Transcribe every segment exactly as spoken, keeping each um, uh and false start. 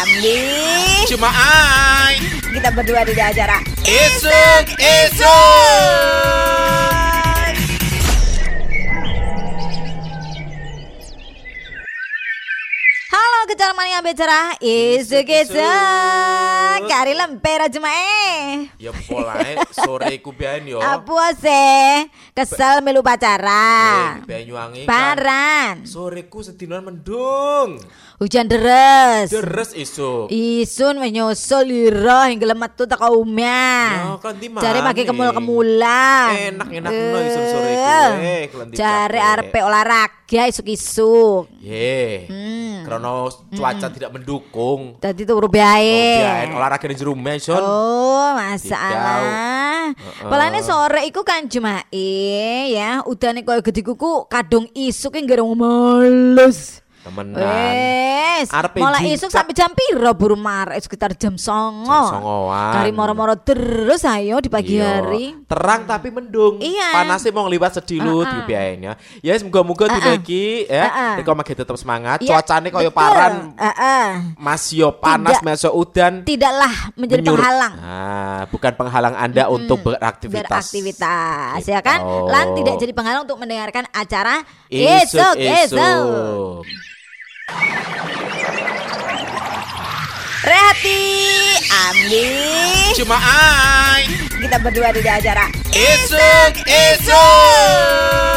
Ambi. Cuma ai. Kita berdua di acara Isuk Isuk. Halo kejar mania becerah Isuk Isuk. Kari lempera cuma eh. Ya polae sore ku biyen yo. Apa sih? Kesel melu pacara. Eh, Banyuwangi. Paran. Soreku sedinan mendung. Hujan deres. Deres isuk. Isun menyusul lira hingga metu teko omah. Ya, kelanti maneh. Jare pake kemul-kemulan. Enak-enak no isun soreku. Eh, kelanti. Jare arepe olahraga isuk-isuk. Ye. Hmm. Karena cuaca tidak mendukung. Tadi tuh bae. Biyen olahraga di jero omah, Son. Oh, masalah. Heeh. Pelane sore iku kan Jumae ya, udane koyo gede kuku kadung isuk ki ngerung males. Temenan. Wes, Arep mulai jingkrak. isuk sampai jam piro buru marek sekitar jam songo. Jam songoan. Kari moro-moro terus ayo di pagi Iya. hari. Terang tapi mendung. Iya. Panasnya mau liwat sedilut Uh-uh. di biayanya. Ya semoga-moga Uh-uh. dina iki ya. Uh-uh. Riko magi tetep semangat. Iya, Cuacane koyo betul. paran. Heeh. Masih panas, Tidak. masih udan. Tidaklah menjadi Menyuruh- penghalang. Nah, bukan penghalang Anda untuk beraktivitas. Beraktivitas Gitu. ya kan? Lan tidak jadi penghalang untuk mendengarkan acara Isuk Isuk Isuk. Isuk. Rehati Ambi. Cuma ai. Kita berdua di acara Isuk Isuk.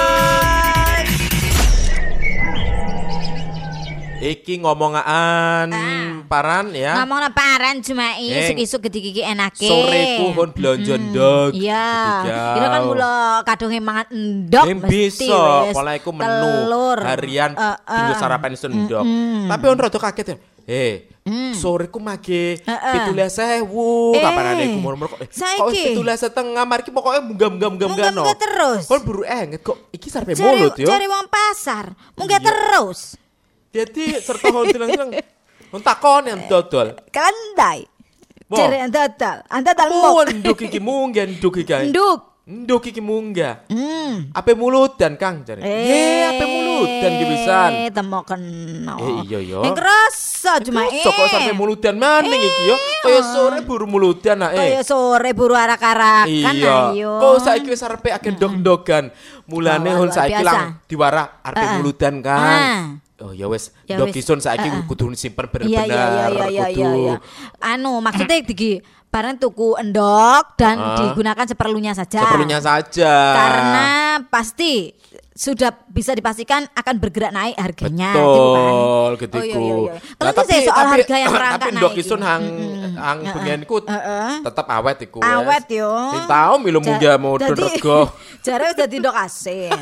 Iki ngomongan paran ya. Ngomong paran cuma Eh, isuk-isuk gede-gede enake. Soreku kon blonjo ndog. Iya. Ketiga. Ini kan mula kadunge mangan endog Yang mesti bisa, wis. pola iku menu Telur. harian Uh, uh. dinggo sarapan sendok. Tapi on rada kaget ya. Eh, soreku mage Uh, uh. pitulas ewu. Eh, Kapan ada iku murmur kok. Eh, saiki. kok pitulas setengah mariki pokoknya munggah-munggah-munggah no. Munggah-munggah terus. Kon buru enget kok iki sarepe Cari, mulut yo. cari wong pasar. Munggah Iya. terus. Jadi serta hon bilang-bilang on takon yang dodol. Kandai. Wah. Cari anda dal. Anda dal Oh, mok. nduk iki munggah nduk iki. Nduk. Nduk iki munggah. Hmm. Ape mulut dan Kang jare. Ye, ape mulut dan ki pisan. Eh, temo kena. Eh, iya, yo. Yang kerasa cuma eh. Sok kok sampe muludan maning iki yo. Kaya sore buru muludan nak eh. Kayak sore buru arak-arakan Iya. ayo. Kok saiki wis arepe akeh ndok-ndogan. Mulane Wah, hon luar saiki biasa. lang diwara arepe Ah, ah. muludan Kang. Ah. Oh ya wis, Ya ndok wis. isun saiki Ah, ah. kudu simpen Iya bener-bener. iya iya iya iya iya. kudu. iya. Anu maksudnya digi barang tuku endok dan Ah. digunakan seperlunya saja. Seperlunya saja. Karena pasti sudah bisa dipastikan akan bergerak naik harganya Betul, gitu kan. getiku. Oh iya iya iya. Nah, Kalau saya soal harga yang merangkak tapi naik. ndok isun ini. hang Mm-mm. hang Heeh. bengenku Heeh. tetep awet iku. wes. Awet yo. Sing tau milu munggah mudun Jadi- rego. Jare wis dadi ndok asin.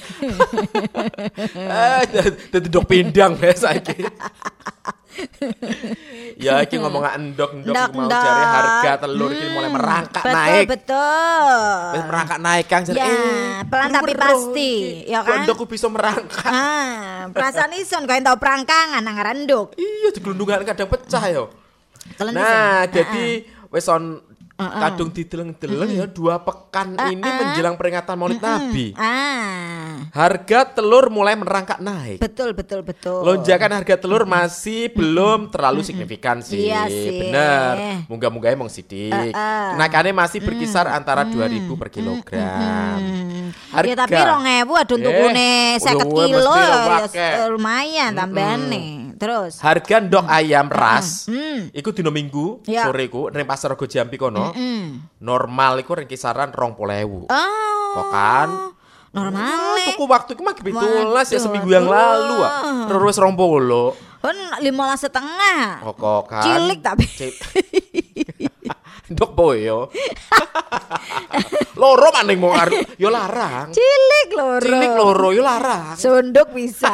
Eh, dadi ndok pindang wes saiki. Ya iki ngomong endok-endok mau Ndok-ndok. jare harga telur iki mulai Hmm, merangkak betul, naik. Betul. Wis merangkak naik Kang jare. Ya, eh, pelan tapi bener-bener pasti, iki. ya kan? Kok ndokku bisa merangkak. Ah, perasaan ison kau tau perangkangan nang renduk. Iya digelundungan kadang pecah yo. Kalian Nah, sih? jadi wis on Uh-uh. kadung dideleng-deleng ya dua pekan ini Uh-uh. menjelang peringatan Maulid Nabi. Ah, Harga telur mulai merangkak naik. betul betul betul. Lonjakan harga telur masih belum terlalu signifikan sih. Iya sih. Bener. Munggah-munggahnya mong sidik. Uh-uh. Kenaikannya masih berkisar antara dua ribu per kilogram. Hmm. Harga. Ya tapi rong ewu adun Eh, tukune seket udah kilo mesti ya wake. s- lumayan tambahane. Terus. Harga ndok ayam ras Hmm. iku dino Minggu Ya. sore iku ning Pasar Rego Jambi kono. Hmm. Normal iku ring kisaran rong puluh ewu. Oh. Kok kan? Normal. Ah, tuku waktu iku mah pitulas ya Waduh, seminggu yang waduh. lalu ah. Terus rong puluh. Kan lima setengah. Kok kan? Cilik tapi. Cil- Ndok boyo. Loro maning mau aru yo larang. Cilik loro. Cilik loro yo larang. Sunduk bisa.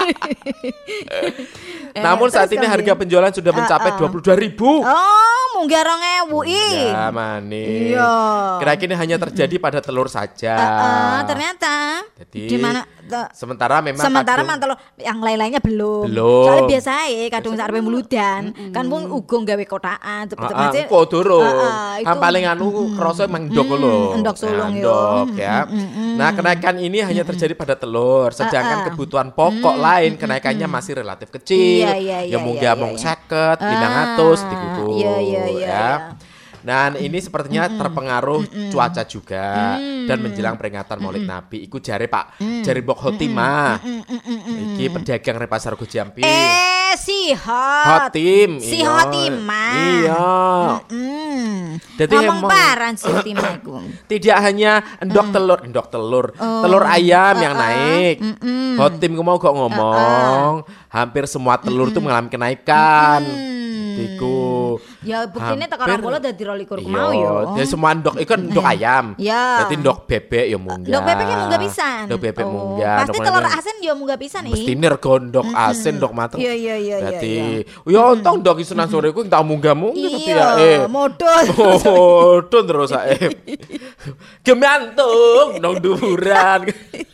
Namun saat ini harga penjualan sudah mencapai dua puluh dua ribu. Oh, munggah rong ewu ih. Ya manis. Iya. Kira-kira ini hanya terjadi pada telur saja. Heeh, ternyata. Jadi Di mana te- sementara memang sementara kadung- mantel yang lain-lainnya belum. Belum. Soalnya biasa ya kadung sarpe muludan, kan wong uga gawe kotaan Ah, ah, cepet-cepet. kok durung. Heeh, Yang itu- paling anu kerasa emang endok lho. endok sulung Nah, yo. endok ya. Nah, kenaikan ini hanya terjadi pada telur, sedangkan kebutuhan pokok lain kenaikannya masih relatif kecil. Iya, iya, Ya iya, munggah iya, mung iya. seket, limang atus dikuku. Iya, iya, iya, ya. iya. Nah, ini sepertinya terpengaruh cuaca juga dan menjelang peringatan Maulid Nabi. Iku jare Pak, jare Mbok Khotimah. Iki pedagang re pasar Gojampi. Eh, si hot. Hotim, Si iya. Hotimah. Iya. Hmm. Jadi Ngomong emang- paran si Hotimah iku. Tidak hanya endok telur, endok telur, telur ayam yang naik. Hotim ku mau kok ngomong, hampir semua telur tuh mengalami kenaikan. Iku. Ya buktine teko Hampir- rong puluh dadi rong likur Iya, mau yo. jadi semua endok itu kan endok ayam. Iya. Berarti endok bebek ya munggah. Ndok bebek yang munggah pisan. Endok bebek Oh, munggah. Pasti endok telur lainnya- asin yo munggah pisan iki. Mesti nergo ndok asin, ndok mateng. Iya, iya, iya, Berarti, iya, ya untung ndok Isnan sore ku tak munggah-munggah tapi ya Iya, eh. modal. Oh, don terus ae. Gemantung nang dhuwuran.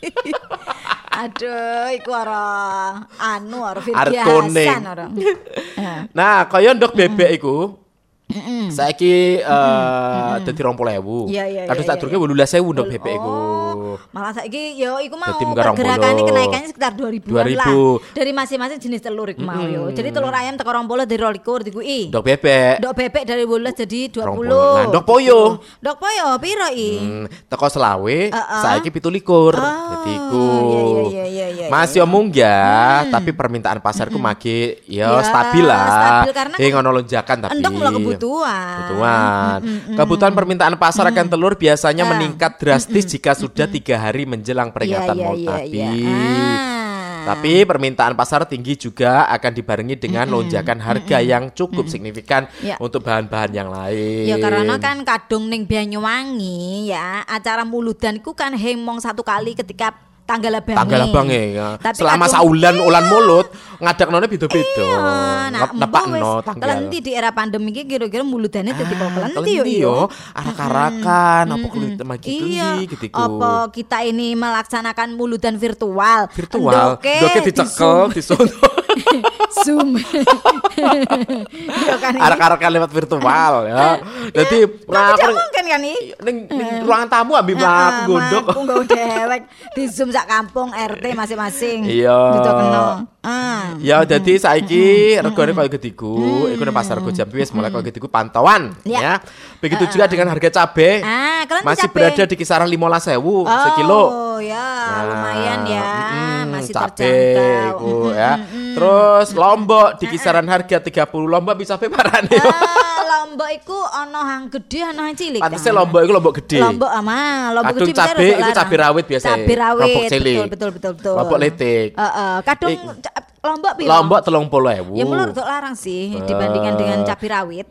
Aduh, iku ora anu ora Arep Firgi kuning. Hasan ora. Eh. Nah, kaya ndok bebek iku. Saiki eh dadi rong puluh ewu. Iya, iya, Kadus iya, tak iya, durunge wolulas ewu ndok bebek iku. Oh, malah saiki yo iku mau Dadi munggah rong puluh. pergerakannya kenaikannya sekitar dua ribuan dua lah. ribu. Dari masing-masing jenis telur iku mau yo. Jadi telur ayam teko rong puluh dari rong likur dikuki. Ndok bebek. Ndok bebek dari wolulas jadi dua rong puluh. puluh. Nah, ndok poyo. Ndok poyo piro i? Hmm, teko selawe, Heeh. saiki pitu likur. Oh, Dadi iku. iya, iya, iya, iya, iya, Masih yo munggah, tapi permintaan pasarku magi yo Ya, stabil lah. stabil karena Eh ngono lonjakan tapi. Endok mula kebutuhan. Kebutuhan. Kebutuhan permintaan pasar akan telur biasanya Ah. meningkat drastis jika sudah tiga hari menjelang peringatan Iya, iya, Maulid iya, Nabi. iya. Ah. Tapi permintaan pasar tinggi juga akan dibarengi dengan lonjakan harga yang cukup signifikan Ya. untuk bahan-bahan yang lain. Ya karena kan kadung ning Banyuwangi ya acara muludan iku kan hemong satu kali ketika tanggal abange. Tanggal abange ya. Tapi Selama kadung- saulan Iya. ulan mulut ngadagnone beda-beda. Iya, nah, Nep- nepakno mbok wis tanggal. kelenti di era pandemi iki kira-kira muludane dadi kok kelenti yo. Kelenti iya. yo, arak-arakan, apa kulit magi Iya, kendi gitu. apa kita ini melaksanakan muludan virtual? Virtual, Endoke doke di dicekel, disono. Zoom. Iya kan. iki. Arak-arakan lewat virtual ya. Jadi Nah, nah, tidak aku mungkin kan nih. ning ning ruangan tamu ambil mlaku gondok. Aku nggo dewek di Zoom sak kampung R T masing-masing. Iya. Gitu kena. Ah. Ya dadi saiki regane koyo gediku, iku nang pasar Gojampi wis mulai koyo gediku pantauan Ya. ya. Begitu juga dengan harga cabe. Ah, kalian Masih cabe. berada di kisaran lima belas ribu sekilo. Oh ya, lumayan ya, mm, masih cabe terjangkau. iku ya. Terus lombok di kisaran harga tiga puluh lombok bisa pe parane. Ah, lombok iku ana hang gede ana hang cilik. Pantasnya kan? lombok iku lombok gede. Lombok ama, lombok Kadung gede biasanya cabe rada iku larang. cabe rawit biasa. Cabe rawit. Lombok cilik. Betul betul betul betul. Lombok letik. Heeh, kadung Ik- ca- lombok piro? Lombok telung puluh ewu. Ya mulai rada larang sih dibandingkan dengan cabe rawit.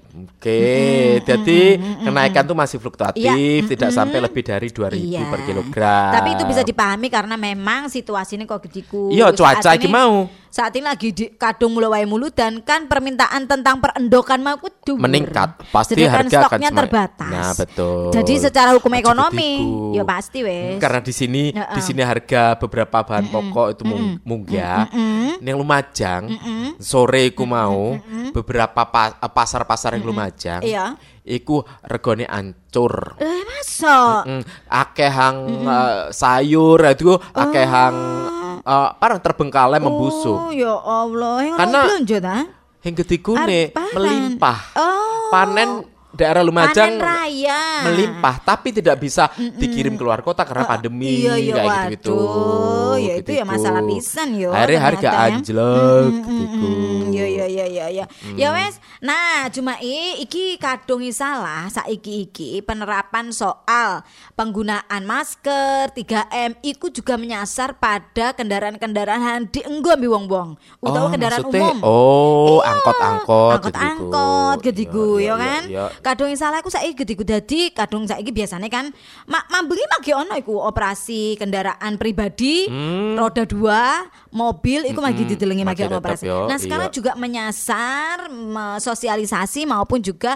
Oke, jadi kenaikan tuh masih fluktuatif, Iya. tidak sampai lebih dari dua ribu Iya. per kilogram. Tapi itu bisa dipahami karena memang situasinya kok gediku. Iya, cuaca Saat iki ini- mau. Saat ini lagi di kadung mulai wae muludan kan permintaan tentang perendokan mau kudu Meningkat, pasti Sedangkan harga akan stoknya semakin- terbatas. Nah, betul. Jadi secara hukum Aja ekonomi gediku. ya pasti wes. Karena di sini Heeh. di sini harga beberapa bahan pokok itu mung- munggah. Yang Lumajang sore iku mau beberapa pa- pasar-pasar yang Lumajang. Iya. Iku regane ancur. Eh masa? Mm, akeh hang eh, sayur itu akeh hang eh, apa terbengkalai membusuk. Oh ya Allah, yang Karena- belanja ta? Yang ketikune Arep panen. melimpah. Oh. Panen daerah Lumajang Panen raya. melimpah tapi tidak bisa dikirim keluar kota karena pandemi iya, iya, kayak gitu-gitu. waduh, ya itu ya Gitu-gitu. masalah pisan yo. Akhirnya harga ternyata ya. anjlok Mm, mm, gitu. mm, Ya ya ya ya ya. Ya wes. Nah, cuma i, iki kadung salah saiki iki penerapan soal penggunaan masker tiga M iku juga menyasar pada kendaraan-kendaraan dienggo ambi wong-wong utawa kendaraan maksudnya, umum. Oh, Iya, angkot-angkot angkot-angkot gediku Iya, ya iya, kan. iya. Kadung yang salah aku saiki gediku dadi kadung saiki biasanya kan mak mambengi magi ono iku operasi kendaraan pribadi roda dua mobil iku magi didelengi magi magi ono tetep operasi. yo, Nah sekarang iya. juga menyasar me- sosialisasi maupun juga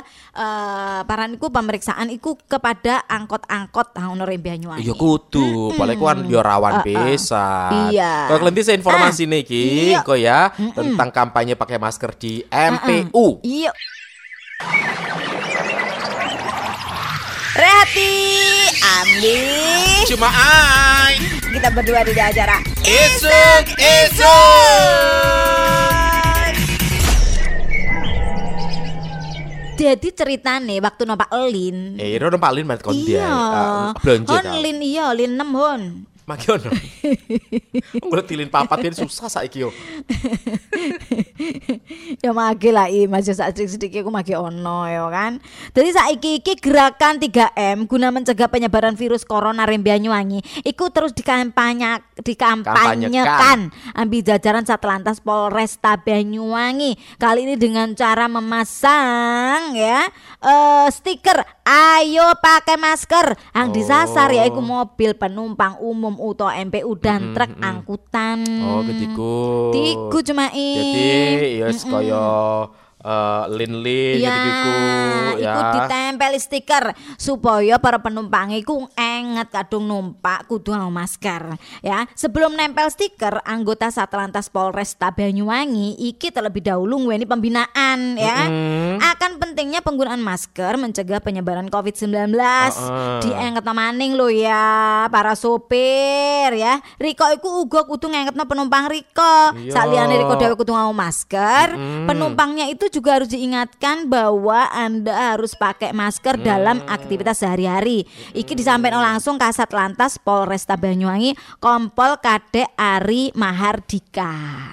eh paran iku pemeriksaan iku kepada angkot-angkot ah, ono Rembe Banyuwangi. Iya kudu, paling kan yo rawan pisan. Iya. Kalau kalian saya informasi nih ki, iya. kok ya tentang kampanye pakai masker di M P U. Iya. Rehati, Ambi, Cuma ai. kita berdua di acara Isuk Isuk. Jadi ceritane waktu numpak Lin. Eh, ro numpak Lin mat kon dia. Iya. Belanja Hon ta. Lin iya, Lin enam hon. Maki ono. Ngono tilin papat ini susah saiki yo. Ya mage lah i masih sak sedikit aku mage ono ya kan. Jadi saiki iki gerakan tiga M guna mencegah penyebaran virus corona ring Banyuwangi iku terus dikampanye dikampanyekan ambil jajaran Satlantas Polresta Banyuwangi. Kali ini dengan cara memasang ya uh, stiker ayo pakai masker yang disasar Oh. yaitu mobil penumpang umum atau M P U dan Mm-mm, truk mm-mm. angkutan. Oh, ketiku. Tiku cuma i. Jadi ya kaya eh, lin-lin Ya, gitu ya. iku ditempel stiker supaya para penumpang iku enget kadung numpak kudu nganggo masker ya. Sebelum nempel stiker, anggota Satlantas Polresta Banyuwangi iki terlebih dahulu ngeweni pembinaan ya. Mm-mm. Akan pentingnya penggunaan masker mencegah penyebaran covid sembilan belas. Uh-uh. Diengetno maning lho ya para sopir ya. Riko iku uga kudu ngengetno penumpang Riko. Iya. Saliyane Riko dhewe kudu nganggo masker, Mm-mm. penumpangnya itu juga harus diingatkan bahwa Anda harus pakai masker dalam aktivitas sehari-hari. Iki disampaikan langsung Kasat Lantas Polresta Banyuwangi Kompol Kadek Ari Mahardika.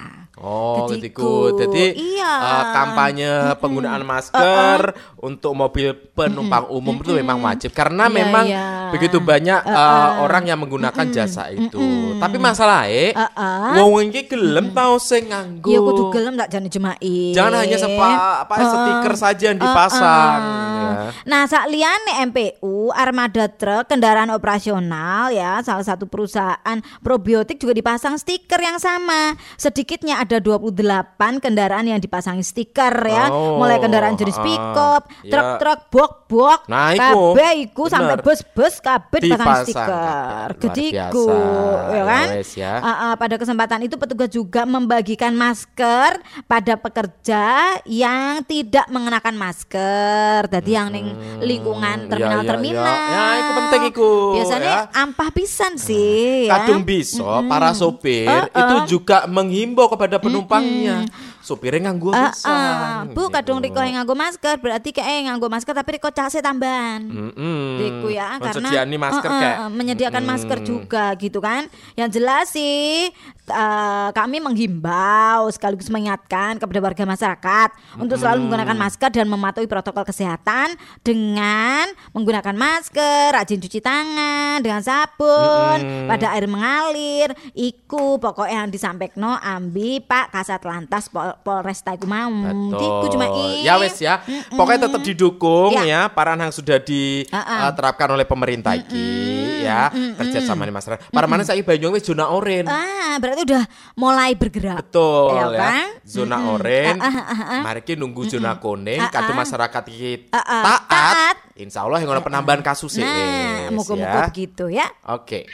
Oh, Ketiku. ketiku. Jadi Iya. eh, kampanye penggunaan masker untuk mobil penumpang umum itu memang wajib karena Iya, memang iya. begitu banyak eh, orang yang menggunakan jasa itu. Tapi masalahnya, Uh-uh. wong iki gelem tau sing nganggo. Iya kudu gelem tak jane jema'i. Jangan hanya sepa, apa stiker saja yang dipasang. ya. Nah, sak liyane M P U, armada truk, kendaraan operasional ya, salah satu perusahaan probiotik juga dipasang stiker yang sama. Sedikitnya ada dua puluh delapan kendaraan yang dipasangi stiker ya. Oh, Mulai kendaraan jenis ah, pick-up, ya. truk-truk, bok-bok, Nah, iku, kabeh iku bener. sampai bus-bus kabeh dipasang Dipasang stiker. kabeh. Luar Gediku, biasa. ya kan? Ya wes, ya. Ah, ah, pada kesempatan itu petugas juga membagikan masker pada pekerja yang tidak mengenakan masker. Jadi yang ning lingkungan iya, terminal-terminal. iya, iya. Ya, iku penting iku, Biasanya ya. ampah pisan sih ya. Kadung bisa para sopir Uh-uh. itu juga menghimbau kepada penumpangnya. Sopirnya nganggo Ah, pisan. ah. Bu, kadung Gitu. Riko yang nganggo masker berarti kayak nganggo masker tapi Riko case tambahan. Mm-mm. Diku ya karena Mensediani masker uh, uh, kayak uh, menyediakan Mm-mm. masker juga gitu kan. Yang jelas sih uh, kami menghimbau sekaligus mengingatkan kepada warga masyarakat untuk selalu menggunakan masker dan mematuhi protokol kesehatan dengan menggunakan masker, rajin cuci tangan dengan sabun, Mm-mm. pada air mengalir. Iku pokoknya yang disampaikan ambi Pak Kasat Lantas Pol- Polresta iku mau. Iku cuma i. Ya wes ya. Pokoknya tetap didukung Ya. ya paran yang sudah Uh-uh. diterapkan oleh pemerintah iki ya kerja sama di masyarakat. Para mana saiki Banyuwangi wis zona oranye. Ah, berarti udah mulai bergerak. Betul Ya ya. kan? Zona oranye. Ah, ah, ah, ah. Mari kita nunggu zona kuning. Ah, ah. Kadang masyarakat iki Ah, ah. taat. Taat. Insya Allah yang ada penambahan kasus Nah, ini. moga-moga begitu ya. Oke.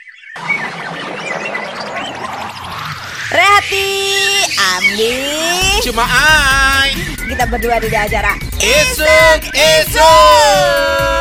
Rehati, Ambi, Cuma ai. kita berdua di acara Isuk isuk.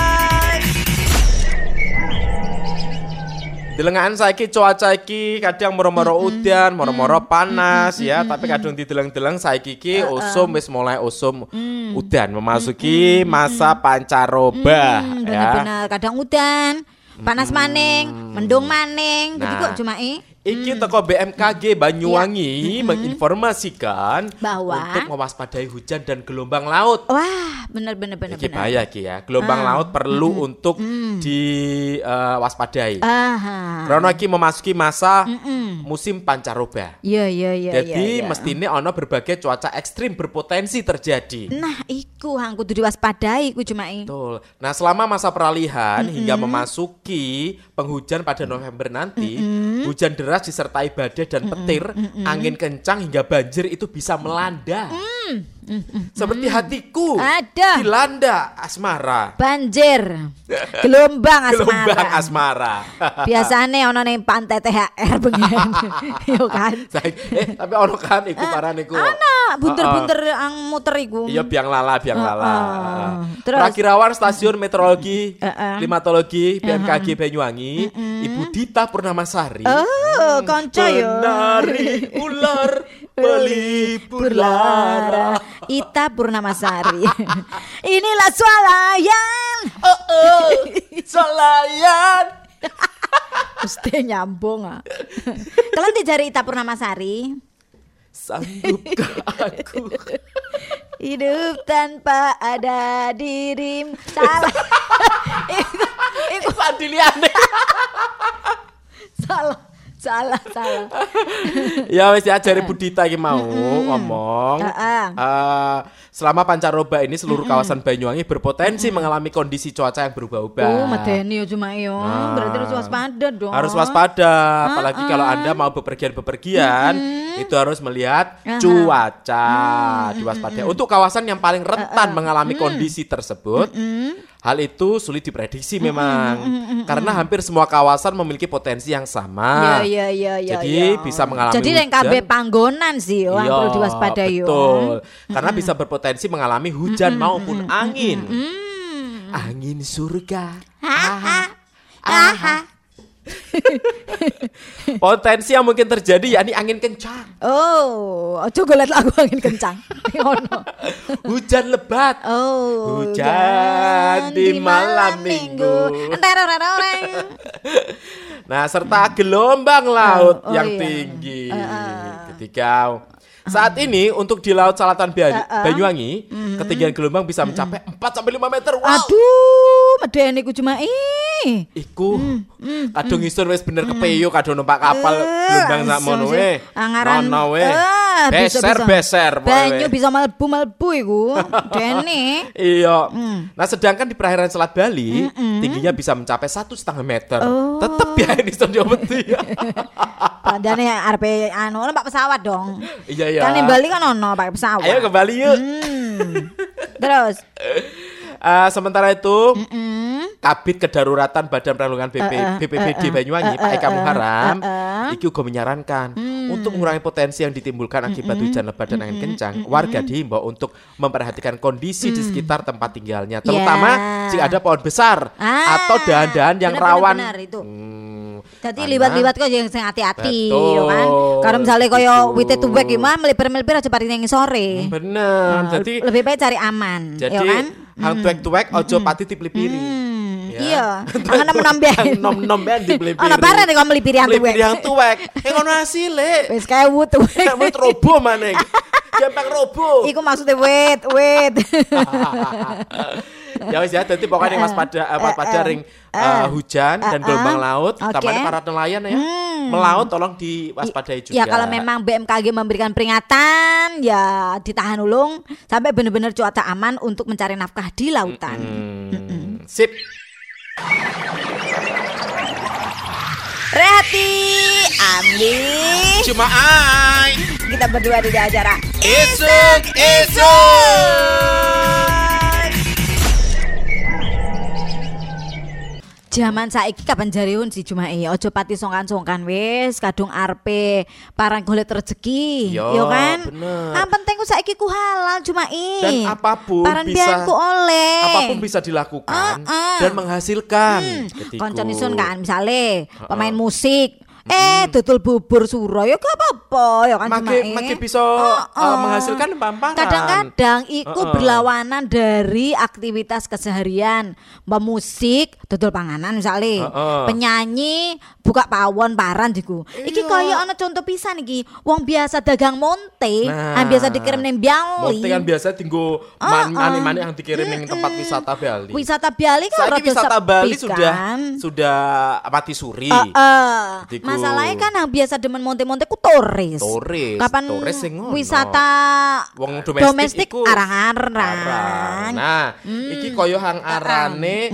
Delengan saiki cuaca iki kadang moro-moro udan, moro-moro panas ya, tapi kadang dideleng-deleng saiki iki usum wis mulai usum udan memasuki masa pancaroba Hmm, ya. benar-benar kadang udan, panas maning, mendung maning. Jadi Nah. kok cuma i Iki teko B M K G Banyuwangi menginformasikan Bahwa- untuk mewaspadai hujan dan gelombang laut. wah, benar-benar benar-benar. Iki bahaya Ki ya. Gelombang laut perlu untuk diwaspadai. Aha. Karena iki memasuki masa musim pancaroba. Iya, iya, iya, Jadi iya, iya. mestine ono berbagai cuaca ekstrim berpotensi terjadi. Nah, iku hang kudu diwaspadai iku cuma i. Betul. Nah, selama masa peralihan hingga memasuki penghujan pada November nanti, hujan deras disertai badai dan petir, angin kencang hingga banjir itu bisa melanda. Hmm, Seperti hatiku Ada. dilanda asmara. Banjir. Gelombang asmara. Gelombang asmara. Biasane ono ning pantai T H R bengen. Yo kan. eh tapi ono kan iku paran iku. Ana bunter-bunter ang muter iku. Iya biang lala, biang lala. Uh, terus Prakirawan Stasiun Meteorologi Uh, uh. Klimatologi B M K G Banyuwangi, Ibu Dita Purnamasari. Oh, kanca yo. Penari ular pelipur lara. Ita Purnamasari. Inilah swalayan. Oh, oh, solayan. Mesti nyambung ah. Kalian dijari Ita Purnamasari. Sanggupkah aku Hidup tanpa ada dirim. Salah. Itu itu Adiliane. salah. Salah, salah. Ya wis diajari Bu Dita iki mau ngomong. Heeh. Eh, selama pancaroba ini seluruh kawasan Banyuwangi berpotensi mengalami kondisi cuaca yang berubah-ubah. Oh, medeni yo cuma yo. Nah. Berarti harus waspada dong. Harus waspada, apalagi kalau Anda mau bepergian-bepergian, itu harus melihat cuaca, diwaspadai. Untuk kawasan yang paling rentan mengalami kondisi tersebut, hal itu sulit diprediksi memang, karena hampir semua kawasan memiliki potensi yang sama. Iya, iya, iya, Jadi iya. bisa mengalami Jadi yang hujan. kabeh panggonan sih yo, yang Iya, perlu diwaspadai yo. betul. Karena bisa berpotensi mengalami hujan maupun angin. Angin surga. Haha. Haha. Potensi yang mungkin terjadi yakni angin kencang, Oh, ojo golet lagu angin kencang. Ngono. hujan lebat, Oh, hujan di malam minggu. Enterorororeng. Nah, serta gelombang laut Oh, oh yang iya. tinggi. Ketika saat ini untuk di Laut Selatan Ba- Banyuwangi, ketinggian gelombang bisa mencapai empat sampai lima meter. Wow. Aduh, medeni ku cuma ih. Iku kadung isun wis bener kepeyo kadung numpak kapal gelombang sak mono we. Angaran. Nono we. Eh, bisa- bisa. Beser-beser pokoke Banyu we. bisa melebu-melebu iku. Dene. Iya. Nah, sedangkan di perairan Selat Bali tingginya bisa mencapai satu setengah meter. Oh. Tetep ya ini studio beti. Padane arep anu numpak pesawat dong. Iya iya. Kan di Bali kan ono pakai pesawat. Ayo ke Bali yuk. Hmm. Terus Eh, sementara itu, Kabid Kedaruratan Badan Penanggulangan B P, B P B D Banyuwangi, Pak Eka Muharam, iki uga menyarankan untuk mengurangi potensi yang ditimbulkan akibat hujan lebat dan angin kencang. Warga diimbau untuk memperhatikan kondisi di sekitar tempat tinggalnya, terutama Ya. jika ada pohon besar Ah, atau dahan-dahan yang bener, rawan. bener, bener, itu. Hmm, Jadi karena- liwat-liwat kok yang sing hati-hati Betul. yo kan. Kalau misalnya koyo Itu. wite tuwek iki mah melipir-melipir aja pari ning sore. Bener. Nah, Jadi lebih baik cari aman, jadi ya kan? hang tuwek-tuwek ojo pati dipelipiri. Hmm, Ya. iya. Angan menom Hang nom-nom ben dipelipiri. Ana bare nek kok melipiri yang tuwek. Melipiri yang tuwek. Eh ngono asile. Wis kewu tuwek. Wit robo maneh. Gampang robo. Iku maksudnya wait, wait. Ya wis ya, dadi pokoknya yang waspada eh, waspada ring eh, hujan dan gelombang laut, Oke. utamanya para nelayan ya. Melaut tolong diwaspadai juga. Ya kalau memang B M K G memberikan peringatan, ya ditahan ulung sampai benar-benar cuaca aman untuk mencari nafkah di lautan. Hmm, sip. Rehati, Ambi, Cuma ai. kita berdua di acara Isuk isuk. Zaman saiki kapan jariun si Jumae ojo pati songkan-songkan wis kadung arpe parang golek rezeki Yo, yo kan bener. yang penting ku saiki ku halal Jumae Dan apapun paran bisa bianku oleh apapun bisa dilakukan Uh-uh. dan menghasilkan. Ketiku. Koncon isun kan misale pemain musik eh tutul bubur suro ya gak apa-apa ya kan Makin Jumae. makin bisa Uh-uh. uh, menghasilkan pamparan. Kadang-kadang iku Uh-uh. berlawanan dari aktivitas keseharian. Mbak musik, dodol panganan misalnya. Uh-uh. Penyanyi buka pawon paran diku. Iki Iya. kaya ana contoh pisan iki. Wong biasa dagang monte, Nah. yang biasa dikirim ning Bali. Monte kan biasa tinggu Uh-uh. mani-mani yang dikirim ning tempat wisata Bali. Wisata Bali kan Saiki rada wisata sepi Bali sudah kan. sudah mati suri. Heeh. Gitu. Masalahnya kan yang biasa demen monte-monte ku turis. Turis, Kapan turis sing ngono. wisata Wong domestik, domestik iku arang-arang. arang. Nah, iki koyo hang arane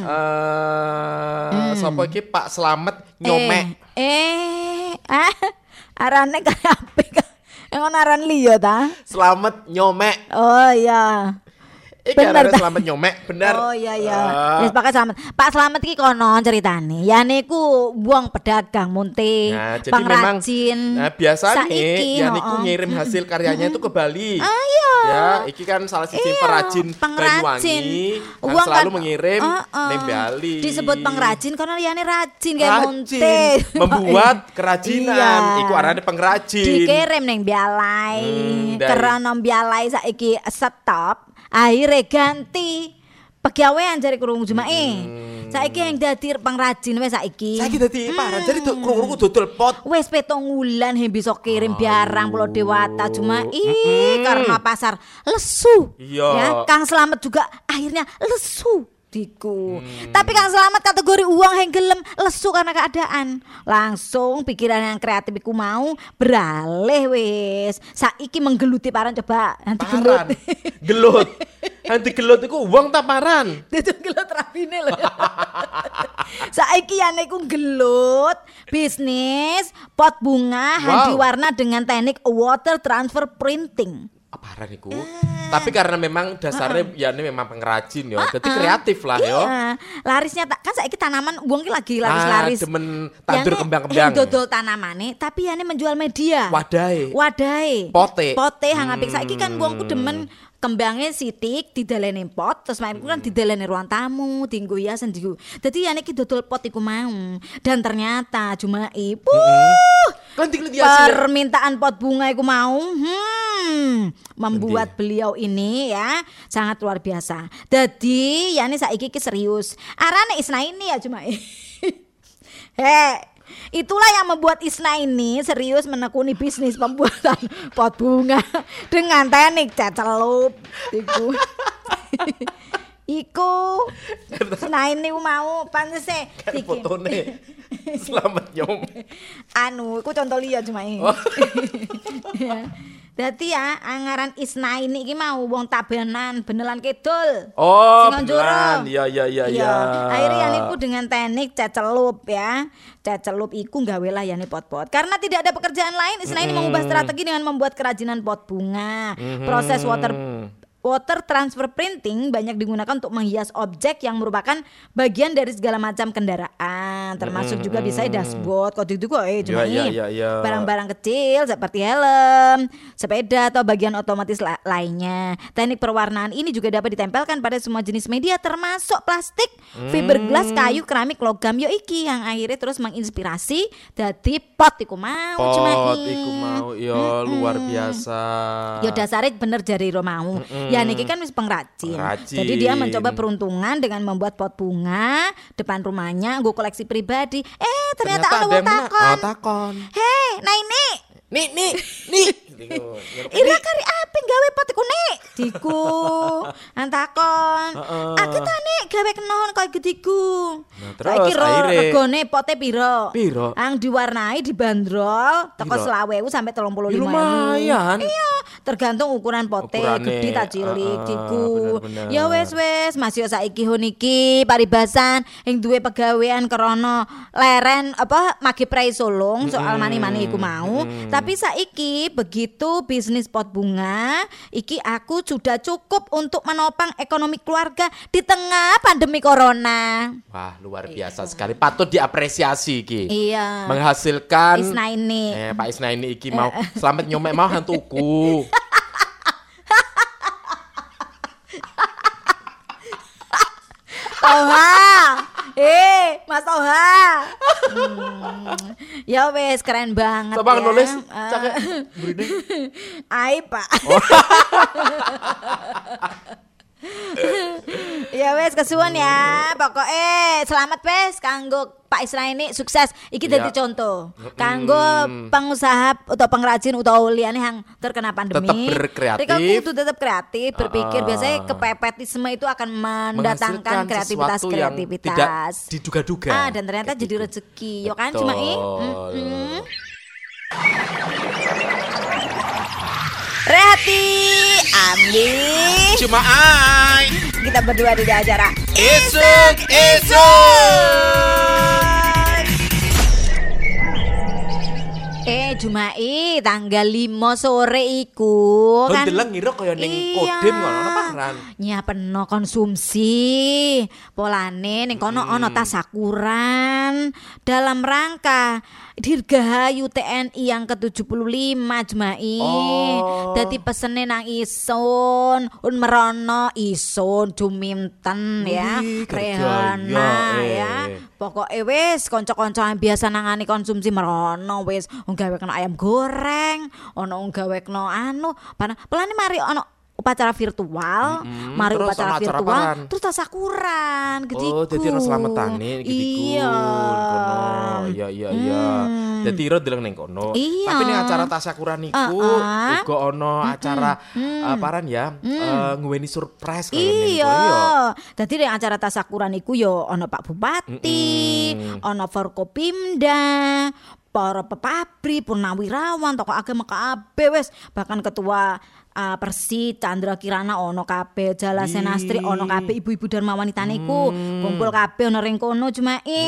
eh sapa iki Pak Slamet nyomek. Eh, eh ah, arane kayak apa? Ngono aran liya ta? Selamat nyomek. Oh iya. Iki arane selamat nyomek, bener. Oh iya iya. Wis uh. pakai selamat. Pak Selamat iki kono ceritane. Ya niku wong pedagang munting, nah, jadi pengrajin. Memang, nah biasa nih, ya niku ngirim hasil karyanya itu ke Bali. Ah, iya. Ya, iki kan salah siji iya, perajin Banyuwangi kan selalu kan, mengirim uh, uh, ning Bali. Disebut pengrajin karena liyane rajin kayak munting. Membuat kerajinan. Iku arane pengrajin. Dikirim ning Bialai. Hmm, karena Bialai saiki stop. Akhirnya ganti pegawaian jari kurung jumae. Hmm. Saiki yang dadi pengrajin wes saiki. Saiki dadi hmm. parah. Jadi kurung-kurung dodol pot. Wes petong wulan he bisa kirim barang Pulau Dewata jumae hmm. karena pasar lesu. Iya. Ya, Kang Selamat juga akhirnya lesu. Diku. Hmm. Tapi Kang Selamat kategori uang yang gelem lesu karena keadaan. Langsung pikiran yang kreatif iku mau beralih wis. Saiki menggeluti paran coba nanti gelut. Gelut. Nanti gelut iku uang ta paran. Itu gelut rapine lho. Saiki yane iku gelut bisnis pot bunga wow. yang diwarna dengan teknik water transfer printing. Parah niku. Uh. Tapi karena memang dasarnya uh-uh. ya ini memang pengrajin ya. Uh-uh. Jadi kreatif lah iya. yo. Larisnya tak kan saiki tanaman wong ki lagi laris-laris. Ah, demen tandur kembang-kembang. Yang dodol tanamane tapi ya ini menjual media. Wadahe. Wadahe. Pote. Pote hang apik saiki kan wongku demen kembangnya sitik didaleni pot terus main kan didaleni ruang tamu tinggu hiasan diku. Dadi ya niki dodol pot iku mau. Dan ternyata cuma ibu mm-hmm. permintaan pot bunga iku mau hmm, membuat Nanti. beliau ini ya sangat luar biasa. Dadi ya ini saiki ki serius. Arane Isna ini ya cuma He itulah yang membuat Isna ini serius menekuni bisnis pembuatan pot bunga dengan teknik cecelup. Iku, iku, Isna ini mau panas sih. Kan fotone selamat nyom. Anu, iku contoh liya cuma ini. Oh. Dadi ya angaran Isna ini iki mau wong tabenan benelan kidul. Oh, benelan. Ya ya ya ya. Akhirnya yang iku dengan teknik cecelup ya. Cecelup iku gawe layani pot-pot. Karena tidak ada pekerjaan lain, Isna ini mm-hmm. mengubah strategi dengan membuat kerajinan pot bunga. Mm-hmm. Proses water Water transfer printing banyak digunakan untuk menghias objek yang merupakan bagian dari segala macam kendaraan, termasuk mm, juga bisa dashboard, kode itu kok eh cuma ya, ya, ya, ya. barang-barang kecil seperti helm, sepeda atau bagian otomatis la- lainnya. Teknik perwarnaan ini juga dapat ditempelkan pada semua jenis media termasuk plastik, mm. fiberglass, kayu, keramik, logam yo iki yang akhirnya terus menginspirasi dadi pot iku mau pot iku mau yo mm-mm. luar biasa. Yo dasare bener jari ro mau. Mm-mm. Ya niki kan wis pengrajin. Pengrajin. Jadi dia mencoba peruntungan dengan membuat pot bunga depan rumahnya, nggo koleksi pribadi. Eh ternyata, ternyata ada wong takon. Oh, takon. Hei, nah ini. Nih, nih, nih. Ira kari apa gawe pot iku nek? Diku. Antakon. Uh-uh. Aku ta nek gawe kenon koyo gediku. Nah, terus akhirnya regane pote piro? Piro? Ang diwarnai dibanderol teko selawe ribu sampai tiga puluh lima ribu. Lumayan. Iya, tergantung ukuran pote, gede ta cilik uh, diku. Ya wes wes, Mas yo saiki honiki paribasan ing duwe pegawean krana leren apa magi prei sulung soal mani-mani iku mau. Hmm. Tapi saiki begitu bisnis pot bunga, iki aku sudah cukup untuk menopang ekonomi keluarga di tengah pandemi corona. Wah, luar biasa iya. sekali. Patut diapresiasi iki. Iya. Menghasilkan Isna ini. Eh, Pak Isna ini iki mau selamat nyomek mau hantuku. Toha, eh Mas Toha, hmm. ya wes keren banget. Coba ya. nulis, cakep, beri Ai Pak. Oh. Ya wes kesuwun ya, pokoknya selamat wes kanggo Pak Isra ini sukses. Iki dadi ya. contoh kanggo hmm. pengusaha atau pengrajin utawa liyane yang terkena pandemi. Tetap berkreatif. Tapi kudu tetap kreatif, berpikir uh, biasanya kepepetisme itu akan mendatangkan kreativitas kreativitas. Tidak diduga-duga. Ah, dan ternyata Kayak jadi rezeki. Yo kan cuma i. Mm-mm. Rehati, Ambi, cuma ai. Kita berdua di acara Isuk Isuk. Eh Jumai tanggal lima sore iku kan. kan. Deleng ngira kaya ning Iya. Kodim ngono apa paran. Nyapeno konsumsi. Polane ning kono ana tasakuran dalam rangka Dirgahayu T N I yang ke tujuh puluh lima Jumai. Oh. Dadi pesene nang isun, un merono isun juminten ya. Wih, Rehana kerjaya, eh. ya. Pokoke wis kanca-kanca yang biasa nangani konsumsi merono wis nggawe kena ayam goreng, ono nggawe kena anu, pana pelane mari ono upacara virtual, Mm-mm, mari terus upacara ono acara virtual, apaan? terus tasakuran gediku. Oh, dadi ono slametane gediku. Iya. Kono. Iya iya iya. Hmm. Dadi iro deleng ning kono. Iya. Tapi ning acara tasakuran iku Uh-uh. uga ono acara eh, paran ya, eh, nguweni surprise kaya ning Iya. kono ya. Dadi ning acara tasakuran iku yo ono Pak Bupati, Mm-mm. ono Forkopimda, para pepabri, purnawirawan, tokoh agama kabeh wis, bahkan ketua uh, Persi Chandra Kirana ono kabeh, Jala Wih. Senastri ono kabeh, ibu-ibu Dharma wanita niku kumpul kabeh ono ring kono Jumai.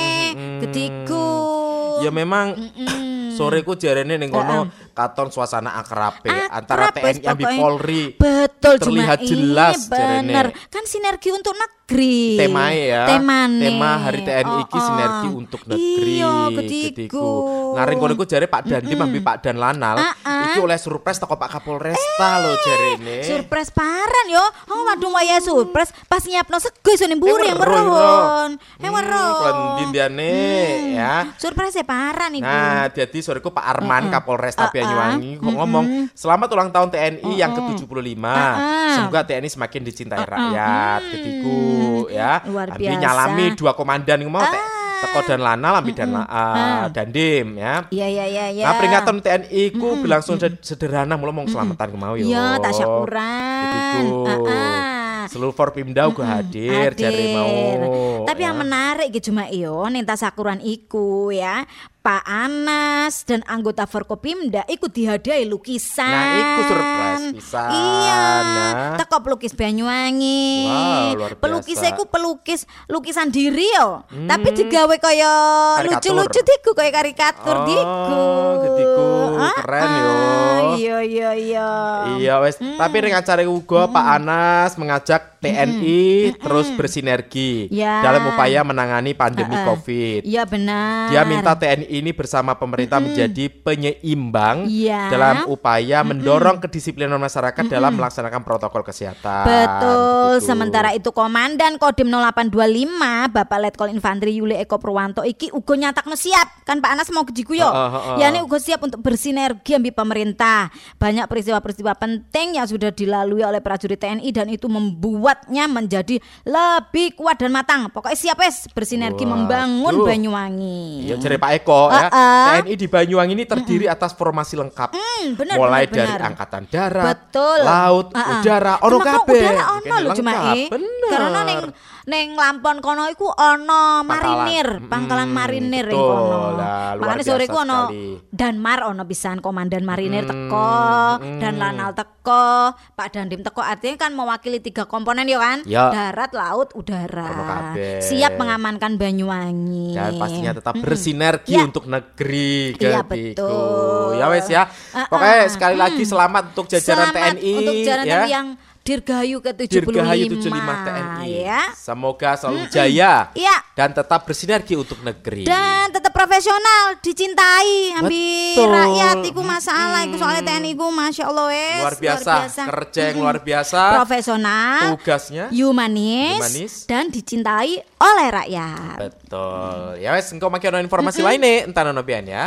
Gediku. Ya memang sore ku jarene ning kono katon suasana akrabe antara Akrab wis T N I ambi pokoknya. Polri. Betul terlihat Jumai. jelas Bener. jarene. Kan sinergi untuk negeri. Temae ya. Temane. Tema Hari T N I iki Oh, oh. sinergi untuk negeri. Iya, gediku. Ngaring kono iku jare Pak Dandim ambi Pak Dan Lanal Ah-ah. iki oleh surprise teko Pak Kapolresta lho jarene. Surprise paran yo. Oh waduh waya surprise pas nyiapno sego isone mburi yang weruh, meron. Eh Hmm, weruh. Klendi diane ya. Surprise paran iku. Nah, jadi soreku Pak Arman Kapolresta Banyuwangi kok ngomong selamat ulang tahun T N I yang ke tujuh puluh lima. Semoga T N I semakin dicintai rakyat. Ketiku ya. Luar Ambi biasa. nyalami dua komandan iku mau te- teko dan Lanal ambi dan uh, Dandim ya. Iya iya iya iya. Nah, peringatan T N I ku berlangsung sed- sederhana mula mong selamatan ku mau yo. Iya, tasyakuran. Ketiku. Heeh. Seluruh Forpimda uga hadir jare mau. Tapi yang ya. menarik iki cuma iyo ning tasakuran iku ya. Pak Anas dan anggota Forkopimda ikut dihadiahi lukisan. Nah, iku surprise pisan, Iya. ya. Teko pelukis Banyuwangi. Wow, luar biasa. Pelukisnya iku pelukis lukisan diri yo. Tapi digawe kaya Karikatur. lucu-lucu diku kaya karikatur Oh, diku. gediku. Ah, Keren yo. ah, Iya iya iya. Iya wes, tapi ring acara uga Pak Anas mengajak T N I terus bersinergi Ya. dalam upaya menangani pandemi Heeh. Covid. Iya benar. Dia minta T N I ini bersama pemerintah menjadi penyeimbang Iya. dalam upaya mendorong kedisiplinan masyarakat dalam melaksanakan protokol kesehatan. Betul. Begitu. Sementara itu Komandan Kodim nol delapan dua lima Bapak Letkol Infanteri Yuli Eko Purwanto iki uga nyatakno siap. Kan Pak Anas mau kejiku yo. Heeh, heeh. Ya ini uga siap untuk bersinergi ambi pemerintah. Banyak peristiwa-peristiwa penting yang sudah dilalui oleh prajurit T N I dan itu membuatnya menjadi lebih kuat dan matang. Pokoknya siap wes bersinergi Waduh. membangun Banyuwangi. Ya jere Pak Eko ya, Heeh. T N I di Banyuwangi ini terdiri atas formasi lengkap. Hmm, benar, Mulai benar, dari benar. angkatan darat, Betul. laut, Heeh. udara, ono Cuma kok kabeh. udara ono Kene lho cuma lengkap. eh. Bener. Karena ning ning Lampon kono iku ono marinir, Mm, pangkalan marinir ing betul kono. lah, luar Makanya sore biasa iku ono sekali. Danmar ono pisan komandan marinir Mm, teko, mm. dan Lanal teko, Pak Dandim teko artinya kan mewakili tiga komponen yo kan? Ya. Darat, laut, Ono udara. kabeh. Siap mengamankan Banyuwangi. Dan pastinya tetap bersinergi Ya. untuk negeri. Iya, Getiku. betul. Ya wes ya. Ah, Pokoknya ah. sekali lagi selamat untuk jajaran Selamat T N I untuk jajaran ya. yang Dirgahayu ke tujuh puluh lima. Dirgahayu tujuh puluh lima T N I. Ya. Semoga selalu jaya Iya. dan tetap bersinergi untuk negeri. Dan tetap profesional, dicintai ambi Betul. rakyat iku masalah iku soalnya T N I iku Masya Allah wes luar biasa, kerja yang luar biasa. Profesional, Tugasnya humanis, Humanis. dan dicintai oleh rakyat. betul. Ya wes engkau makin ono informasi lainnya entah ono pian ya.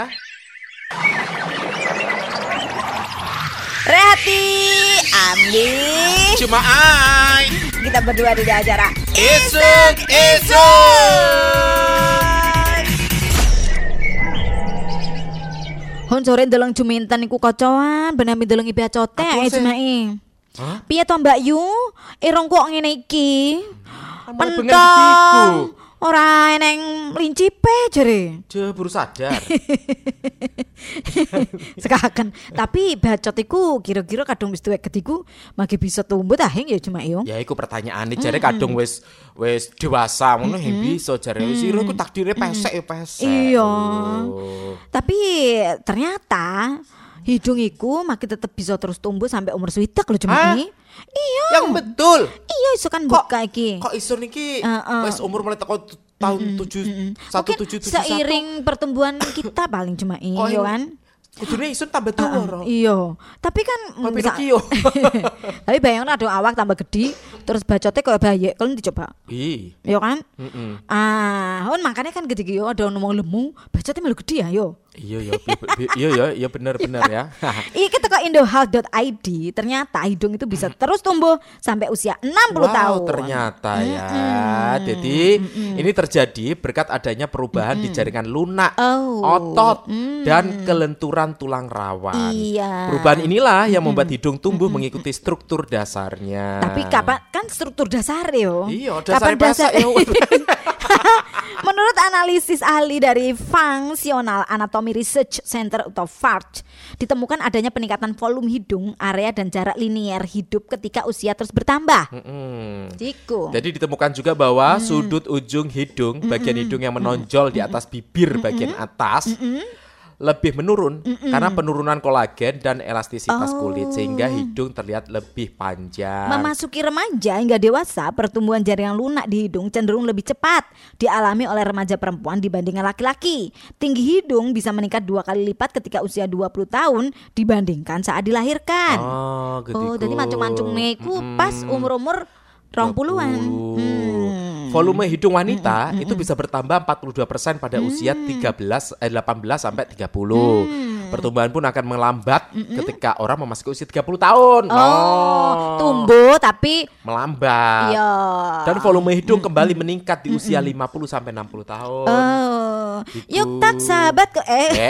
Rehati, ambi. Cuma ai. Kita berdua di acara Isuk isuk. Hon sore ndeleng Juminten iku kocoan ben ambi ndeleng ibu acote Apa ae sih? Jumai. Hah? Piye to Mbak Yu? Irung kok ngene iki? Amal bengen getiku. Ora eneng lincipe jere. Je baru sadar. Sekaken. Tapi bacot iku kira-kira kadung wis tuwek gediku mage bisa tumbuh ta heng ya cuma yo. Ya iku pertanyaane jare kadung wis wis dewasa ngono heng bisa jare wis ira iku takdire pesek ya pesek. Iya. Oh. Tapi ternyata hidung iku makin tetep bisa terus tumbuh sampai umur swidak lho cuma Hah? ini. Iya. Yang betul. Iya iso kan Kok- buka iki. Kok iso niki Heeh. wis umur mulai teko t- tahun tujuh satu Mungkin tujuh tujuh satu. seiring pertumbuhan kita paling cuma ini Kok yo ini- kan. Kudune isun tambah tuwa ro. Iya. Tapi kan Kok misa- Pinocchio. Tapi bayangin ada awak tambah gede terus bacotnya kayak bayi kalau dicoba. Ih. Yo kan? Heeh. Ah, kan makanya kan gede yo ada ngomong lemu, bacotnya malu gede ya yo. Iya ya, bi- bi- iya ya, iya bener-bener ya. Iki teko indohealth dot i d ternyata hidung itu bisa terus tumbuh sampai usia enam puluh Wow, tahun. ternyata ya. Jadi ini terjadi berkat adanya perubahan di jaringan lunak, Oh. otot, dan kelenturan tulang rawan. Iya. Perubahan inilah yang membuat hidung tumbuh mengikuti struktur dasarnya. Tapi kapan kan struktur dasar yo. Iya, Kapan dasar ya. Menurut analisis ahli dari Functional Anatomy Research Center atau F A R C, ditemukan adanya peningkatan volume hidung, area dan jarak linier hidup ketika usia terus bertambah. Mm. Jiku. Jadi ditemukan juga bahwa sudut ujung hidung, bagian hidung yang menonjol di atas bibir bagian atas lebih menurun karena penurunan kolagen dan elastisitas kulit sehingga hidung terlihat lebih panjang. Memasuki remaja hingga dewasa, pertumbuhan jaringan lunak di hidung cenderung lebih cepat dialami oleh remaja perempuan dibandingkan laki-laki. Tinggi hidung bisa meningkat dua kali lipat ketika usia dua puluh tahun dibandingkan saat dilahirkan. Oh, Oh, jadi mancung-mancung niku pas umur-umur rong puluhan. Hmm. Volume hidung wanita itu bisa bertambah empat puluh dua persen pada usia tiga belas eh, delapan belas sampai tiga puluh. Pertumbuhan pun akan melambat ketika orang memasuki usia tiga puluh tahun. Oh, tumbuh tapi melambat. iya. Dan volume hidung kembali meningkat di usia lima puluh sampai enam puluh tahun. Oh, Gitu. yuk tak sahabat ke eh. Eh.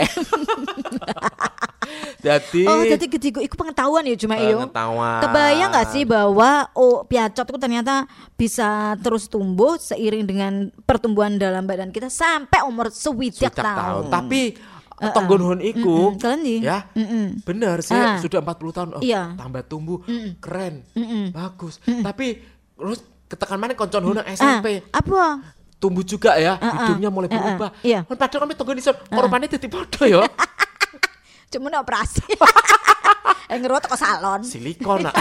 Jadi Oh, jadi gediku iku pengetahuan ya cuma iyo. Pengetahuan. Kebayang nggak sih bahwa oh piacot itu ternyata bisa terus tumbuh seiring dengan pertumbuhan dalam badan kita sampai umur swidak swidak tahun. tahun. Tapi tonggonhon iku Mm-mm. Kalian nih? ya Mm-mm. benar sih Ah. sudah empat puluh tahun oh, Iya. tambah tumbuh keren Mm-mm. bagus tapi terus ketekan mana koncon honang S M P Ah, apa? tumbuh juga ya Ah, ah. hidungnya mulai Ah, ah. berubah Iya. kan padahal kami tonggon iso korbannya dadi podo ya Cuma operasi. Eh ngerot ke salon. silikon nak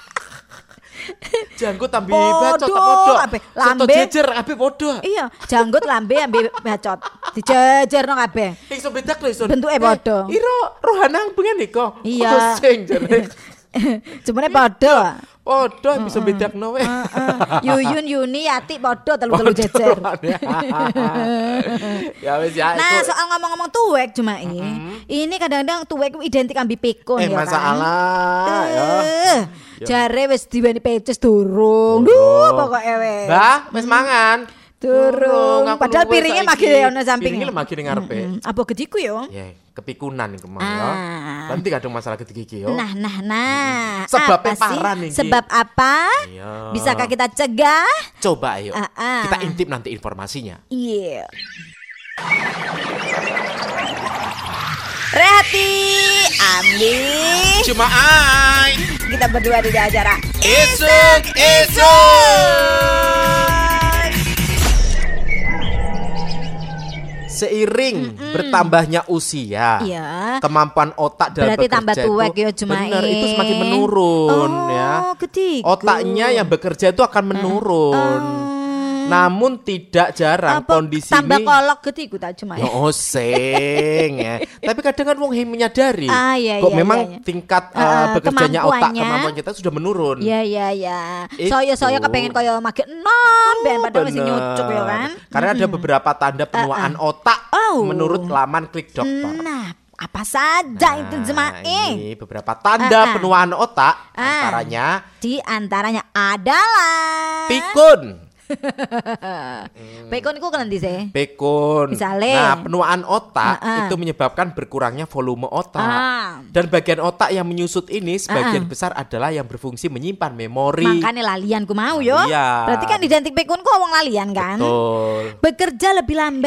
janggut tambi Podo, bacot tak podo kabeh. soto Lambe. jejer kabeh podo Iya, janggut lambe ambil bacot. Dijejerno kabeh. iso bedak lho iso Bentuke podo. Eh, iro rohanang pengen iko Iya. sing jare Cuma podo. podo bisa bedakno we Yuyun Yuni Yati podo telu-telu jejer. Ya wis ya Nah, itu. soal ngomong-ngomong tuwek cuma ini. Ini kadang-kadang tuwek itu identik ambi pikun Eh ya masalah kan. ya. Eh, Jare wis diweni peces durung. Durung. Duh, pokoke wis. Mbah, wis mangan. Durung. Aku Padahal luwes piringnya saiki. magi ono samping. Piringnya magi ning ngarepe. Mm, apa gediku yo? Ya, kepikunan iku mau Ah. ya. Nanti kadang masalah gede iki yo. Nah, nah, nah. Sebabnya Apa sih? parah nih, Ki. Sebab apa? Iya. Bisakah kita cegah? Coba ayo. Ah, ah. Kita intip nanti informasinya. Iya. Rehati, Ambi. Cuma ai. Kita berdua di acara Isuk isuk. Seiring bertambahnya usia, Iya. kemampuan otak dalam Berarti bekerja tambah tuwek itu ya, Cuma benar eh. itu semakin menurun Oh, ya. ketiku. Otaknya yang bekerja itu akan menurun. Namun tidak jarang Apa, kondisi tambah ini kolok ketiku tak cuma ya. Oh sing ya. Tapi kadang kan wong yang menyadari Ah, iya, kok iya, memang iya, iya. tingkat Ah, uh, bekerjanya otak kemampuannya. kemampuan kita sudah menurun. Iya iya iya. Itu. Soyo-soyo kepengen koyo maget enom ben padahal masih Bener. nyucuk ya kan. Karena ada beberapa tanda penuaan otak Oh. menurut laman Klik Dokter. Nah, apa saja itu Nah, jemaah? ini beberapa tanda Ah, ah. penuaan otak Ah. antaranya Di antaranya adalah pikun. Pekon iku kan ndi sih? Pikun. Misale. Nah, penuaan otak Ah, ah. itu menyebabkan berkurangnya volume otak. Ah. Dan bagian otak yang menyusut ini sebagian Ah, ah. besar adalah yang berfungsi menyimpan memori. Makanya lalian ku mau yo. Lalian. Berarti kan identik pekon ku wong lalian kan. Betul. Bekerja lebih lambat.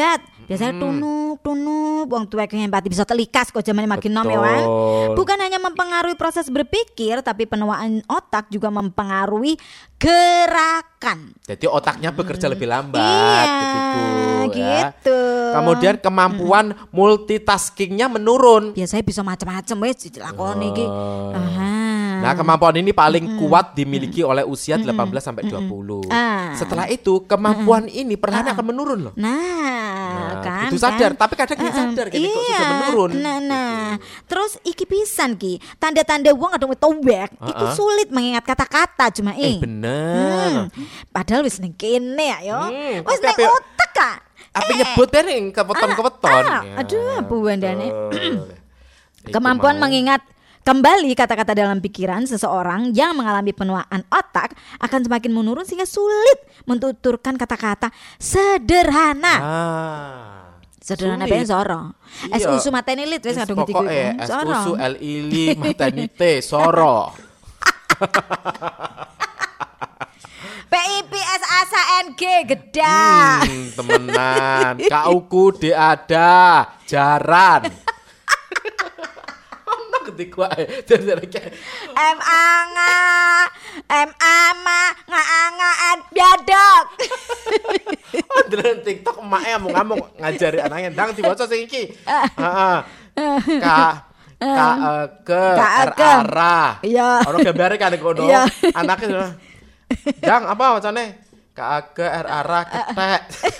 Biasanya Hmm. tunuk tunuk wong tuwek yang empati bisa telikas kok zamane makin nom ya Betul. Wan. Bukan hanya mempengaruhi proses berpikir tapi penuaan otak juga mempengaruhi gerakan. Jadi otaknya bekerja lebih lambat. Iya, gitu, gitu. Ya. Kemudian kemampuan multitaskingnya menurun. Biasanya bisa macam-macam wis dilakoni iki. Oh. Aha. Nah, kemampuan ini paling kuat dimiliki oleh usia delapan belas sampai dua puluh. Ah. Setelah itu, kemampuan ini perlahan akan menurun loh. Nah, Nah, kan itu sadar, kan? tapi kadang nggak sadar gini kok sudah menurun. Nah, nah. Terus iki pisan ki, tanda-tanda wong kadang tuwek, iku Uh-uh. sulit mengingat kata-kata cuma Eh eh. bener. Hmm. Padahal wis ning kene ya yo. Hmm, Wis tapi ning api- otak kak. Apa nyebut ning kepeton-kepeton. Ah, Ya, aduh, Bu Wandane. betul. Iku Kemampuan mau. mengingat kembali kata-kata dalam pikiran seseorang yang mengalami penuaan otak akan semakin menurun sehingga sulit mentuturkan kata-kata sederhana. Ah. Sederhana Sulit. pengen soro. Es Iya. usu mateni lit wis Wis kadung ngetiku. Pokoke es usu L ili mateni T soro. P I P S A S A N G gedak. Hmm, temenan. Kauku de ada jaran. Ono ketika ae dari M anga M ama ngaangaan biadok. Andelan TikTok emak ngamuk-ngamuk ngajari anaknya ndang diwaca sing iki. Heeh. K K E K R A R A. Iya. Ono gambare kan kono. Iya. Anaknya Dang apa wacane? K A G R A R A ketek.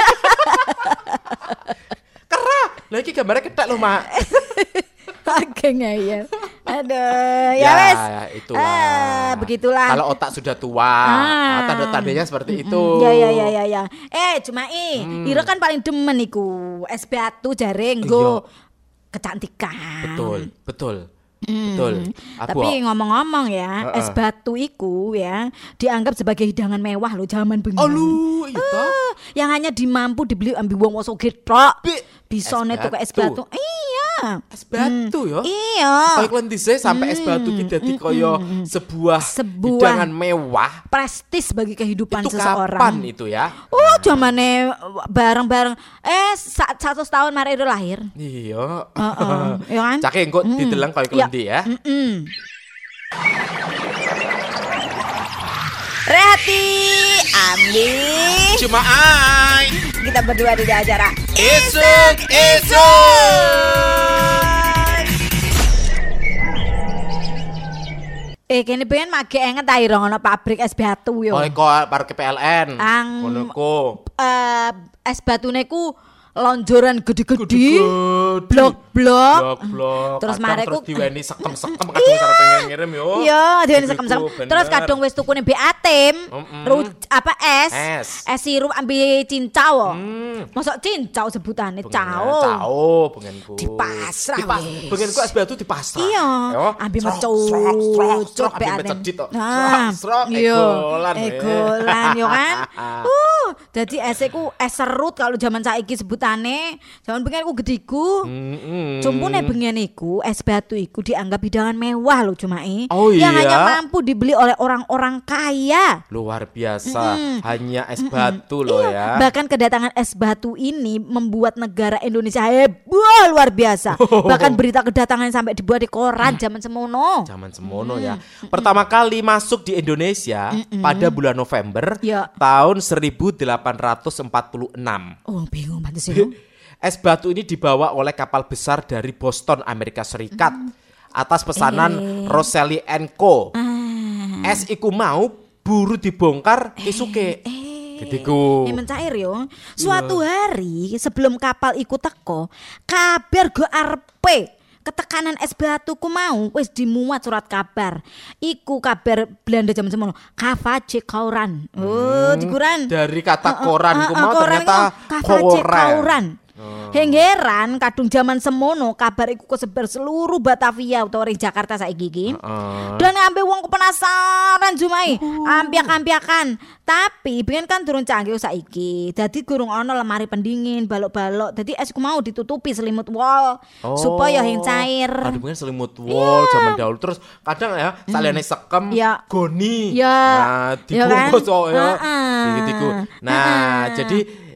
Kera. Lah iki gambare ketek lho, Mak. Oke ngeyel. Aduh, ya Ya, wes. ya, itulah. Ah, begitulah. Kalau otak sudah tua, Ah. tanda-tandanya seperti itu. Ya ya ya ya ya. Eh, cuma i, Hmm. Ira kan paling demen iku es batu jare nggo kecantikan. Betul, betul. Hmm. Betul. Aku Tapi ngomong-ngomong ya, Heeh. es batu iku ya dianggap sebagai hidangan mewah loh zaman bengi. Oh lu, itu. Ah, yang hanya dimampu dibeli ambil wong wong sugih tok. Bi- Bisa es netu ke es batu. batu. Iya. Es batu ya. Iya. Kayak kalian dhisik sampai es batu ki dadi kaya sebuah, Sebuah hidangan mewah. prestis bagi kehidupan Itu seseorang. kapan itu ya? Oh, zamane bareng-bareng eh sa- satu tahun mari itu lahir. Iya. Heeh, ya kan? Cake engko dideleng kaya Ya. klendi ya. Mm-mm. Rehati, Ambi. Cuma ai. Kita berdua di acara Esok, esok. Eh kene pengen mage enget ta ira ngono pabrik es batu yo. Oh, kok parke P L N. Ang- Ngono ku. Eh es batune ku lonjoran gede-gede. Gede-gede. Blok-blok. Blok-blok. Terus Kadang mare terus ku- diweni sekem-sekem kadung sarep pengen ngirim yo. Iya, diene Iku, sekem-sekem. bener. Terus kadung wis tukune B A Tim, Mm-mm. ru- apa es, Es. es sirup ambil cincau. Hmm. Mosok cincau sebutane Bengen- cao. Cao, bengenku. Dipasrah, Dipas, wis. bengenku es batu dipasrah. Iya, Yo, ambil srok, mecut, srok, srok, srok, B A ambil T. mecedit tok. Nah, Srok, srok, iya, egolan, weh. egolan yo kan. Uh, jadi es ku es serut kalau zaman saiki sebutane. Zaman bengen ku gediku. Mm-mm. Cumpune bengen iku es batu iku dianggap hidangan mewah loh cuma i. Oh Yang iya? hanya mampu dibeli oleh orang-orang kaya. Luar biasa, hanya es batu loh Iya, ya. bahkan kedatangan es batu ini membuat negara Indonesia heboh luar biasa. Bahkan berita kedatangan sampai dibuat di koran zaman semono. Zaman semono ya. Pertama kali masuk di Indonesia pada bulan November Ya. tahun seribu delapan ratus empat puluh enam. Oh, bingung pantes ya. Es batu ini dibawa oleh kapal besar dari Boston, Amerika Serikat atas pesanan Eh. Rosselli and Co. Ah. Es iku mau buru dibongkar isuke. Getiku. Eh mencair yo. Suatu hari sebelum kapal iku teko, kabar go arepe ketekanan es batuku mau wis dimuat surat kabar. Iku kabar Belanda zaman semono. Kavace Kauran. Oh, dikuran. Dari kata koran ku mau koran ternyata iku Kavace koran. Kauran. Henggeran kadung zaman semono kabar iku kesebar seluruh Batavia utawa ring Jakarta saiki iki. Heeh. Dan ngambil wong penasaran Jumai, ampiak-ampiakan. Tapi pengen kan turun canggih saiki. Dadi gurung ono lemari pendingin, balok-balok. Dadi es ku mau ditutupi selimut wol supaya yang cair. Aduh mungkin selimut wol zaman dahulu. Terus kadang ya saliyane sekem Ya. goni. Ya. Nah, Ya kan? dibungkus kok ya. Heeh. Gitu-gitu. Nah, Heeh. jadi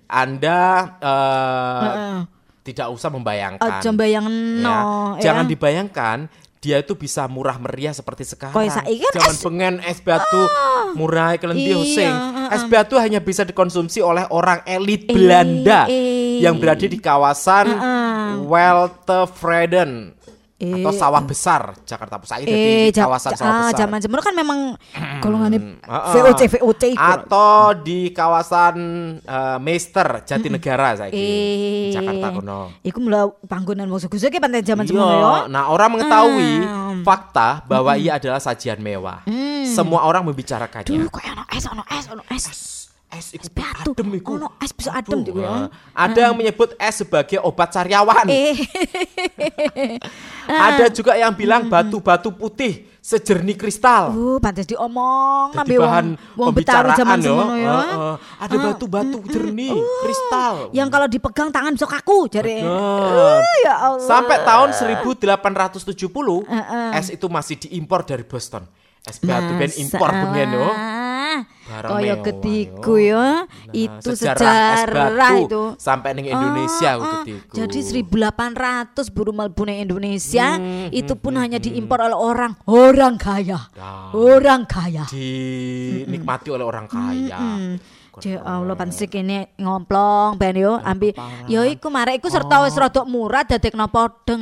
Anda uh, uh-uh. tidak usah membayangkan. Aja bayangno. Ya. Jangan dibayangkan dia itu bisa murah meriah seperti sekarang. Kan Jangan es... pengen es batu ah, murah kelenti hosing. Iya, uh, es batu hanya bisa dikonsumsi oleh orang elit e, Belanda e, yang berada di kawasan uh, uh. Weltevreden. Eh, atau sawah besar Jakarta Pusat eh, di kawasan ja, sawah besar. Zaman zaman kan memang golongannya V O C V O C atau di kawasan uh, Meister Jatinegara saiki eh, Jakarta kono. Iku mulai panggonan wong sugu-sugu ki pantai zaman semono ya. Nah, orang mengetahui hmm. fakta bahwa hmm. ia adalah sajian mewah. Hmm. Semua orang membicarakannya. Duh, kok ono es, ono es, ono es. Es iku adem iku. Ono es bisa adem juga ya. Ada yang menyebut es sebagai obat sariawan. Eh. Ada juga yang bilang batu-batu putih sejernih kristal. Uh, pantes diomong nambe bahan wong pembicaraan yo. Ya. Uh, uh, ada batu-batu uh, jernih uh, kristal. Yang kalau dipegang tangan bisa kaku jare. Uh, ya Allah. Sampai tahun seribu delapan ratus tujuh puluh uh, uh. es itu masih diimpor dari Boston. Es batu ben impor bengen yo. Kaya ketiku ya. Itu sejarah, sejarah itu sampai ning Indonesia oh, oh. ketiku. Jadi seribu delapan ratus buru mlebu ning Indonesia hmm, itu pun hmm, hanya hmm. diimpor oleh orang orang kaya. Nah, orang kaya. Dinikmati hmm. oleh orang kaya. Hmm. Ya Allah pansik ini ngomplong ben yo ambi yo iku marek iku serta wis rada murah dadekno podeng.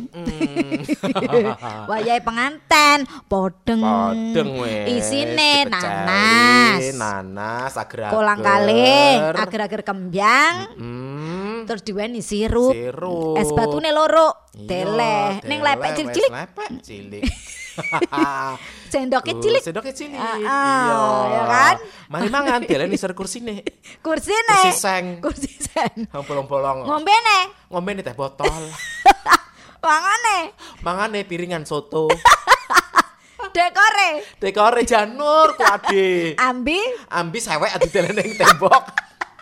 Wayahe penganten podeng. Podeng wis. Isine nanas. Nanas agar-agar. Kolang kalih, agar-agar kembyang. Mm-hmm. Terus diweni sirup. Sirup. Es batune loro. Teleh ning lepek cilik-cilik. Lepek cilik. Sendoknya cilik. Sendoknya cilik. Ah, iya, ya kan? Mari mangan delen isor kursine. Kursine. Kursi seng. Kursi seng. Bolong-bolong. Ngombene. Ngombene teh botol. Mangane. Mangane piringan soto. Dekore. Dekore janur ku ade. Ambi. Ambi sewek adu delen ning tembok.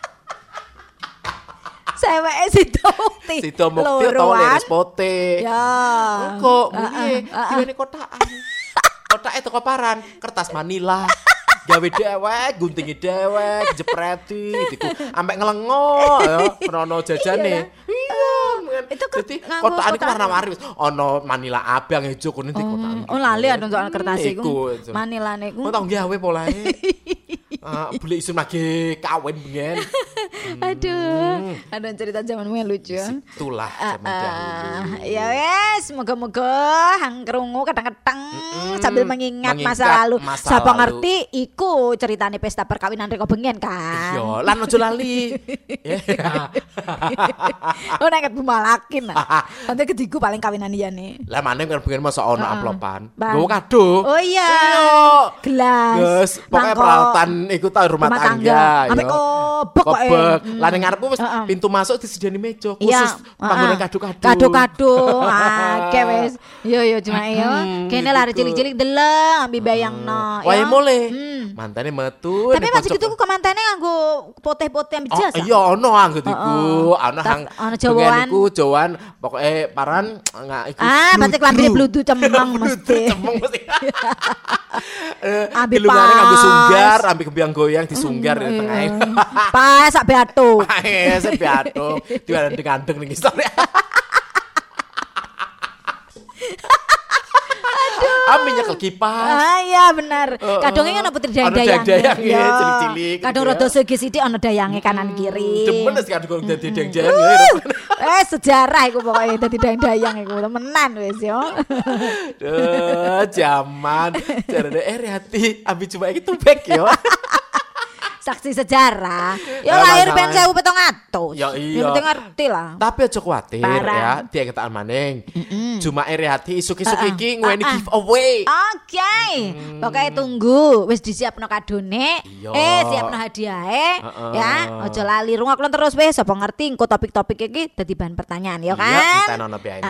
Seweke Sito Mukti. Sito Mukti utawa Leres Pote. Ya. Kok piye? Diwene kotakan. Kotake teko paran, kertas manila. Gawe dewek, guntingi dewek, jepreti, diku ambek ngelengo ya, merono jajane. Iya. Itu dadi kotakan iku warna-warni wis ana manila abang ijo kuning di kotakan. Oh, lali ada soal kertas iku. Manilane iku. Kok tau gawe polahe. Ah, boleh isun lagi kawin bengen. Hmm. Aduh, ada cerita zamanmu yang lucu. Itulah zaman uh, dahulu. Ya wes, moga-moga hang krungu kadang-kadang mm-mm, sambil mengingat, mengingat masa lalu. Siapa ngerti iku ceritane pesta perkawinan Riko Bengen kan. Iya, lan ojo lali. Oh nek bumalakin. Nanti ketiku paling kawinan iyane. Lah maneh kan Bengen masa ono amplopan. Nggo kado. Oh iya. Gelas. Guys, pokoknya peralatan iku ta rumah, rumah tangga. Sampai kobok kok. Lah ning ngarepku wis uh-uh. pintu masuk disediani meja khusus yeah, panggonan uh-uh. kado-kado. Kado-kado. Akeh wis. Yo yo cuma yo. Kene lari cilik-cilik deleng ambi bayangno. Wae mule. Hmm. Mantane metu. Tapi masih gitu kok mantane nganggo poteh-poteh ambi jas. Oh iya ono anggo iku. Ana hang ana Jawaan. Iku Jawaan pokoke paran ngak iku. Ah, mate klambine bludu cemeng mesti. Cemeng mesti. Ambi lungane nganggo sunggar, ambi kembiang goyang disunggar di tengah. Pas sak beato. Pas sak beato. Diandeng-andeng ning isor. Ami nyekel kipas. Ah iya benar. Kadangnya kan putri dayang-dayang. Dayang ya, cilik-cilik. Kadang rada segi sithik ana dayange kanan kiri. Demen wis kadang dadi dayang-dayang. Eh sejarah iku pokoke dadi dayang-dayang iku temenan wis yo. Duh, zaman jarane eri hati ambi coba iki tubek yo. Saksi sejarah. Ya lahir ben seribu petong atus. Ya iya. Penting ngerti lah. Tapi aja kuwatir ya, dia ketaan maning. Cuma iri hati isuk-isuk iki ngweni giveaway. Oke. Pokoke tunggu wis disiapno kadone. Eh siapno hadiahe ya. Aja lali rungokno terus wis sapa ngerti engko topik-topik iki dadi bahan pertanyaan ya kan. Iya, kita nono biayanya.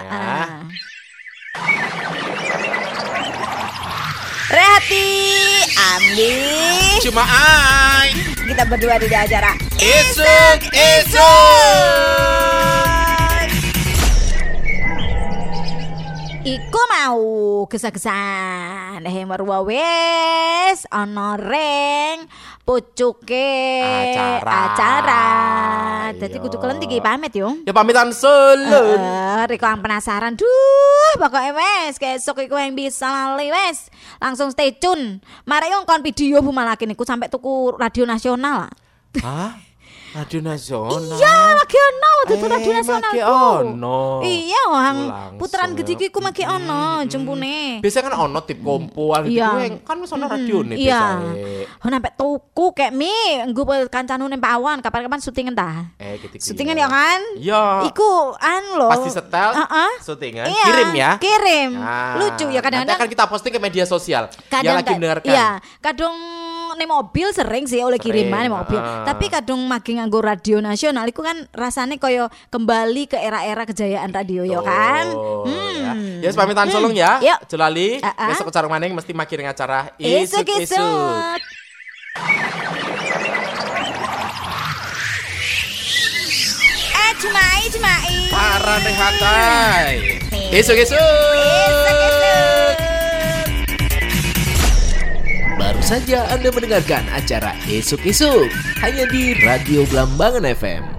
Rehati Ambi Cuma ai kita berdua di acara Isuk Isuk. Iku mau gesah-gesahan eh marwa wes ana ring pucuke Acara. acara. Dadi Iya. kudu kelenti iki pamit yo. Ya pamitan selun. Eh, Riko yang penasaran. Duh, pokoknya wes kesok iku yang bisa lali wes. Langsung stay tune. Mari yo kon video Bu Malaki niku sampai tuku radio nasional. Hah? Radio nasional. Iya, lagi ono tuku Eh, radio nasional. maki ku. ono. Iya, hang Langsung. puteran gede iku maki ono jempune. Biasanya kan ono tip kompoan gitu Iya. yang kan wis ono radio nih Iya. biasanya. Oh, sampai tuku kayak mi nggo kancanu ning Pak Awan kapan-kapan syutingan ta? Eh gitu. Syutingan ya kan? Iya. Iku an lo. Pasti setel, Heeh. syutingan, Iya, kirim ya. Kirim. Nah, Lucu ya nanti kadang-kadang. akan kita posting ke media sosial. Yang kadang lagi ka- mendengarkan. Iya, kadang nih mobil sering sih oleh Sering, kiriman nih mobil. ah. Tapi kadang makin nganggo radio nasional itu kan rasanya koyo kembali ke era-era kejayaan radio ya kan. Oh, Hmm. ya. Ya, pamitan solong ya. Yuk. Jelali, Ah, ah. besok ke Carung Maning mesti makin acara isuk-isuk. Isuk-isuk. Eh, cumai, cumai. Parah deh hatai. Isuk-isuk. Isuk-isuk. Baru saja Anda mendengarkan acara Isuk-Isuk hanya di Radio Blambangan F M.